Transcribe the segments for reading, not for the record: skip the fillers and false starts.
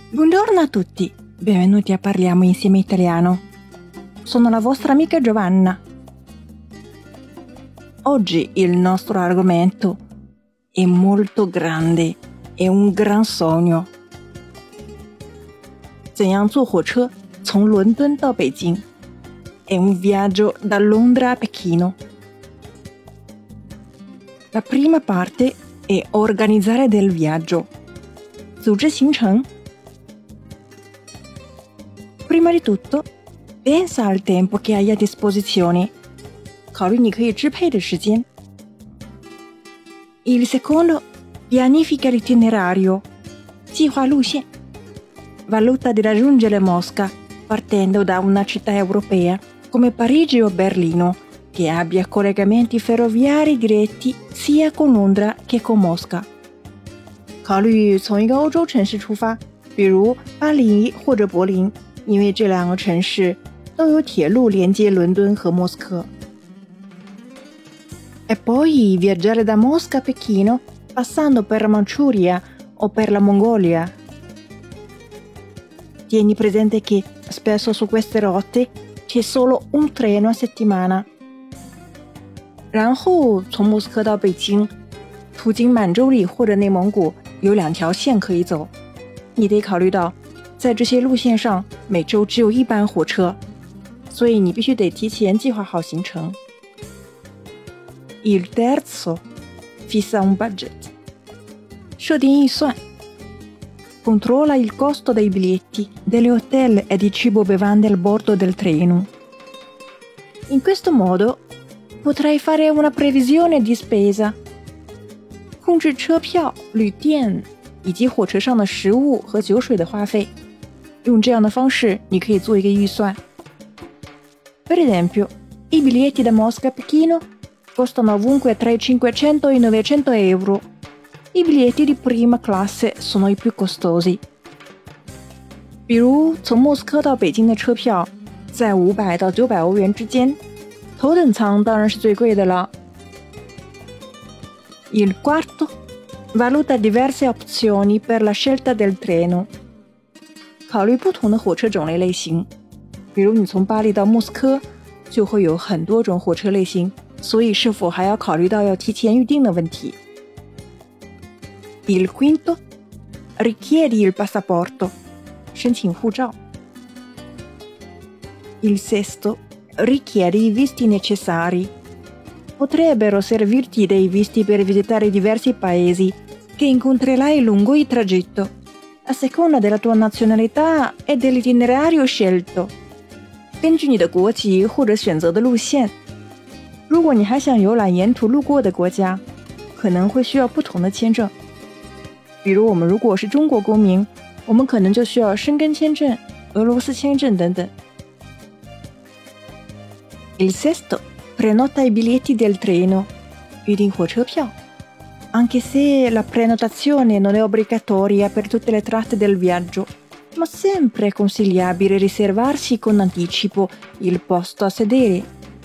Buongiorno a tutti, benvenuti a Parliamo Insieme Italiano. Sono la vostra amica Giovanna. Oggi il nostro argomento è molto grande, è un gran sogno. 怎样坐火车从伦敦到北京 È un viaggio da Londra a Pechino. La prima parte è organizzare del viaggio. 组织行程 Prima di tutto, pensa al tempo che hai a disposizione. 考虑你可以支配的时间 Il secondo, pianifica l'itinerario. 计划路线 Valuta di raggiungere Mosca partendo da una città europea come Parigi o Berlino che abbia collegamenti ferroviari diretti sia con Londra che con Mosca. 考虑从一个欧洲城市出发，比如巴黎或者柏林，因为这两个城市都有铁路连接伦敦和莫斯科。E poi viaggiare da Mosca a Pechino passando per la Manciuria o per la Mongolia. Tieni presente che spesso su queste rotte c'è solo un treno a settimana. 然后从莫斯科到北京，途经满洲里或者内蒙古有2条线可以走。你得考虑到，在这些路线上每周只有1班火车，所以你必须得提前计划好行程。Il terzo, fissa un budget. 设定预算。Controlla il costo dei biglietti, degli hotel e di cibo bevande al bordo del treno. In questo modo potrai fare una previsione di spesa. 控制车票、旅店以及火车上的食物和酒水的花费。用这样的方式，你可以做一个预算。Per esempio, i biglietti da Mosca a Pechino costano ovunque tra i 500 e i 900 euro. I biglietti di prima classe sono i più costosi. 比如从莫斯科到北京的车票在500到900欧元之间，头等舱当然是最贵的了。Il quarto, valuta diverse opzioni per la scelta del treno. 考虑不同的火车种类类型，比如你从巴黎到莫斯科就会有很多种火车类型，所以是否还要考虑到要提前预定的问题。Il quinto, richiedi il passaporto. 申请护照。Il sesto, richiedi i visti necessari. Potrebbero servirti dei visti per visitare diversi paesi che incontrerai lungo il tragitto, a seconda della tua nazionalità e dell'itinerario scelto. 根据你的国籍或者选择的路线，如果你还想游览沿途路过的国家，可能会需要不同的签证。比如我们如果是中国公民，我们可能就需要申根签证、俄罗斯签证等等。Il sesto, prenota i biglietti del treno. 预订火车票。Anche se la prenotazione non è obbligatoria per tutte le tratte del viaggio, ma sempre è consigliabile riservarsi con anticipo il posto a sedere.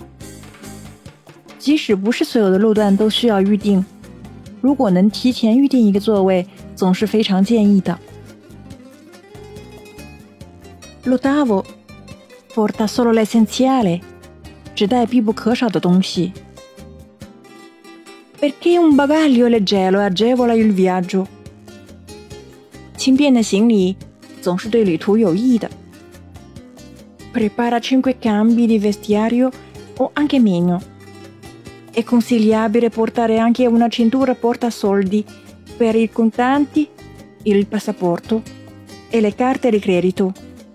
即使不是所有的路段都需要预订，如果能提前预订一个座位，总是非常建议的。L'ottavo, porta solo l'essenziale. 只带必不可少的东西。Perché un bagaglio leggero agevola il viaggio. 轻便的行李总是对旅途有益的。Prepara 5 cambi di vestiario o anche meno. È consigliabile portare anche una cintura portasoldi per i contanti, il passaporto e le carte di credito.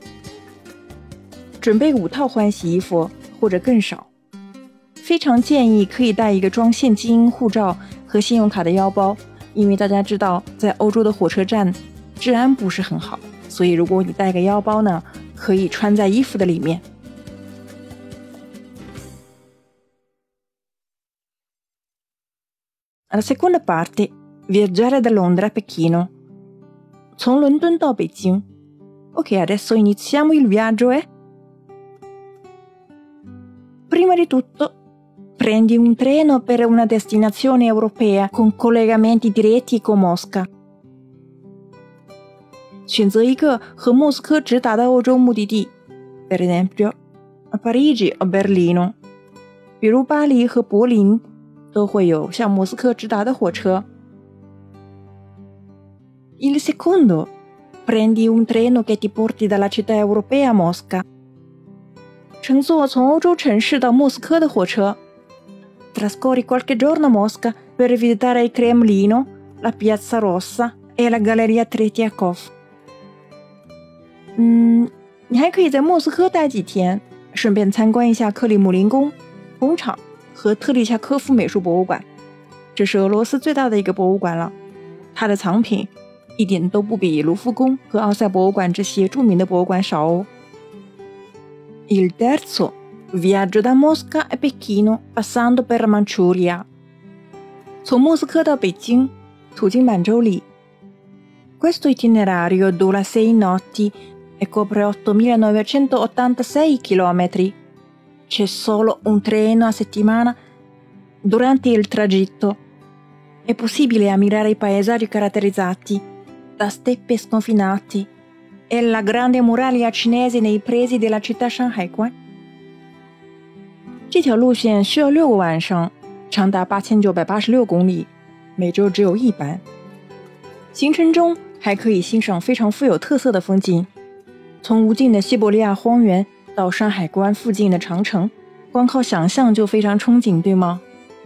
准备5套换洗衣服或者更少。非常建议可以带一个装现金、护照和信用卡的腰包，因为大家知道在欧洲的火车站治安不是很好，所以如果你带个腰包呢，可以穿在衣服的里面。La seconda parte, viaggiare da Londra a Pechino. 从伦敦到北京。Ok, adesso iniziamo il viaggio, Prima di tutto, prendi un treno per una destinazione europea con collegamenti diretti con Mosca. 选择一个和莫斯科直达的欧洲目的地 per esempio Parigi o Berlino， 比如巴黎和柏林都会有向莫斯科直达的火车。Il secondo, prendi un treno che ti porti dalla città europea a Mosca， 乘坐从欧洲城市到莫斯科的火车。Trascorri qualche giorno a Mosca per visitare il Cremlino, la Piazza Rossa e la Galleria Tretьяков。你还可以在莫斯科待几天，顺便参观一下克里姆林宫、工厂和特里恰科夫美术博物馆。这是俄罗斯最大的一个博物馆了，它的藏品一点都不比卢浮宫和奥赛博物馆这些著名的博物馆少哦。Il terzo, viaggio da Mosca a Pechino passando per la Manciuria。 从莫斯科到北京，途经满洲里。Questo itinerario dura 6 notti e copre 8.986 km. C'è solo un treno a settimana. Durante il tragitto è possibile ammirare i paesaggi caratterizzati da steppe sconfinati e la grande muraglia cinese nei pressi della città Shanghai。 这条路线需要6个晚上，长达8986公里，每周只有1班。行程中还可以欣赏非常富有特色的风景，从无尽的西伯利亚荒原到山海关附近的长城，光靠想象就非常憧憬，对吗？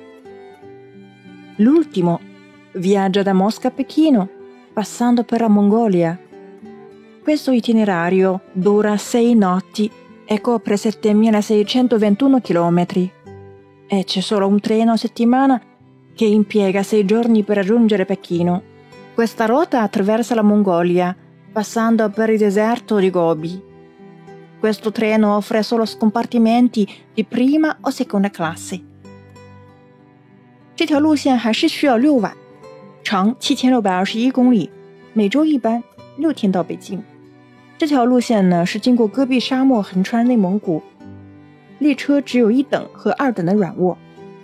L'ultimo, viaggio da Mosca a Pechino, passando per la Mongolia. Questo itinerario dura 6 notti e copre 7.621 km. E c'è solo un treno a settimana che impiega 6 giorni per raggiungere Pechino. Questa rotta attraversa la Mongolia, passando per il deserto di Gobi. Questo treno offre solo scompartimenti di prima o seconda classe。 这条路线还是需要6晚，长7621公里，每周1班，6天到北京。这条路线呢是经过戈壁沙漠，横穿内蒙古，列车只有1等和2等的软卧。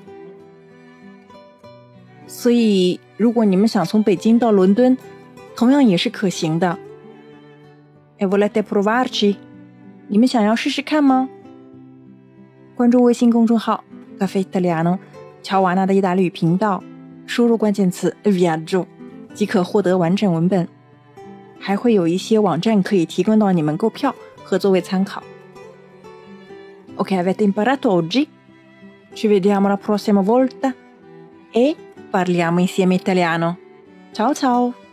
所以如果你们想从北京到伦敦，同样也是可行的。E volete provarci？ 你们想要试试看吗？关注微信公众号 Caffè Italiano 乔瓦纳的意大利语频道，输入关键词 viaggio 即可获得完整文本，还会有一些网站可以提供到你们购票和作为参考。Ok, avete imparato oggi? Ci vediamo la prossima volta e parliamo insieme italiano. Ciao ciao!